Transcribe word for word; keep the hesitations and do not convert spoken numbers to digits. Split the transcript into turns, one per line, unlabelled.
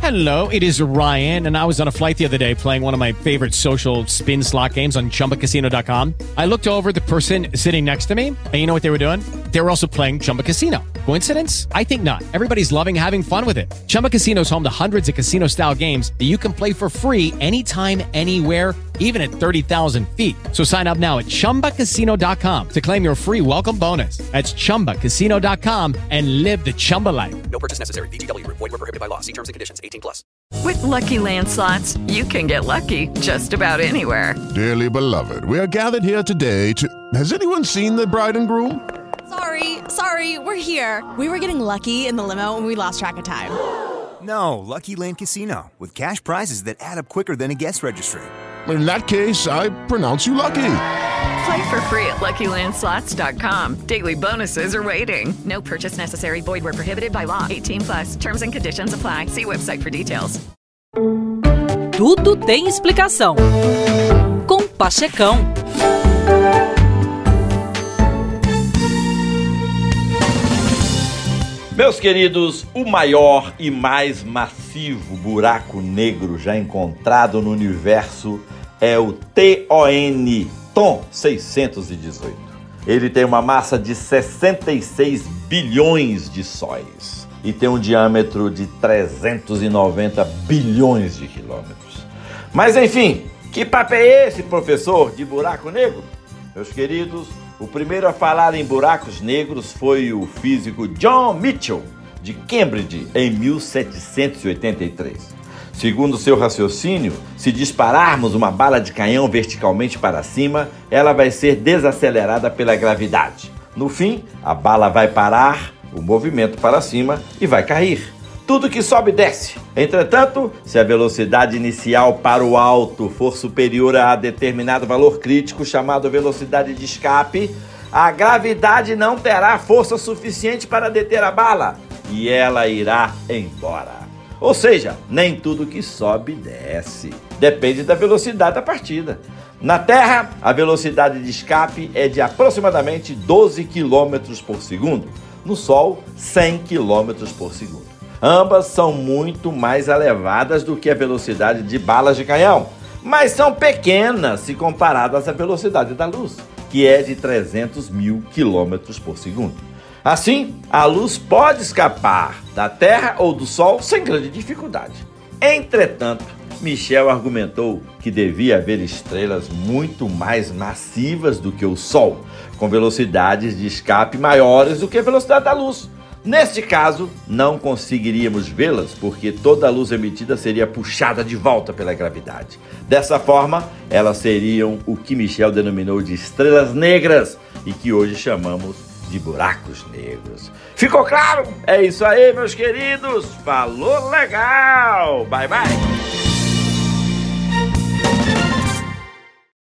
Hello, it is Ryan, and I was on a flight the other day playing one of my favorite social spin slot games on Chumba Casino dot com. I looked over at the person sitting next to me, and you know what they were doing? They were also playing Chumba Casino. Coincidence? I think not. Everybody's loving having fun with it. Chumba Casino is home to hundreds of casino-style games that you can play for free anytime, anywhere, even at thirty thousand feet. So sign up now at Chumba Casino dot com to claim your free welcome bonus. That's Chumba Casino dot com and live the Chumba life.
No purchase necessary. V G W. Void where prohibited by law. See terms and conditions. eighteen plus.
With Lucky Land Slots, you can get lucky just about anywhere.
Dearly beloved, we are gathered here today to... Has anyone seen the bride and groom?
Sorry, sorry, we're here. We were getting lucky in the limo and we lost track of time.
No, Lucky Land Casino, with cash prizes that add up quicker than a guest registry.
In that case, I pronounce you lucky.
Play for free at Lucky Land Slots dot com. Daily bonuses are waiting. No purchase necessary. Void where prohibited by law. eighteen plus. Terms and conditions apply. See website for details.
Tudo tem explicação. Com Pachecão.
Meus queridos, o maior e mais massivo buraco negro já encontrado no universo é o T O N, TON seiscentos e dezoito. Ele tem uma massa de sessenta e seis bilhões de sóis e tem um diâmetro de trezentos e noventa bilhões de quilômetros. Mas enfim, que papo é esse, professor, de buraco negro? Meus queridos, o primeiro a falar em buracos negros foi o físico John Michell, de Cambridge, em mil setecentos e oitenta e três. Segundo seu raciocínio, se dispararmos uma bala de canhão verticalmente para cima, ela vai ser desacelerada pela gravidade. No fim, a bala vai parar o movimento para cima e vai cair. Tudo que sobe desce. Entretanto, se a velocidade inicial para o alto for superior a determinado valor crítico chamado velocidade de escape, a gravidade não terá força suficiente para deter a bala e ela irá embora. Ou seja, nem tudo que sobe desce. Depende da velocidade da partida. Na Terra, a velocidade de escape é de aproximadamente doze quilômetros por segundo. No Sol, cem quilômetros por segundo. Ambas são muito mais elevadas do que a velocidade de balas de canhão, mas são pequenas se comparadas à velocidade da luz, que é de trezentos mil quilômetros por segundo. Assim, a luz pode escapar da Terra ou do Sol sem grande dificuldade. Entretanto, Michel argumentou que devia haver estrelas muito mais massivas do que o Sol, com velocidades de escape maiores do que a velocidade da luz. Neste caso, não conseguiríamos vê-las porque toda a luz emitida seria puxada de volta pela gravidade. Dessa forma, elas seriam o que Michel denominou de estrelas negras e que hoje chamamos de buracos negros. Ficou claro? É isso aí, meus queridos. Falou legal! Bye, bye!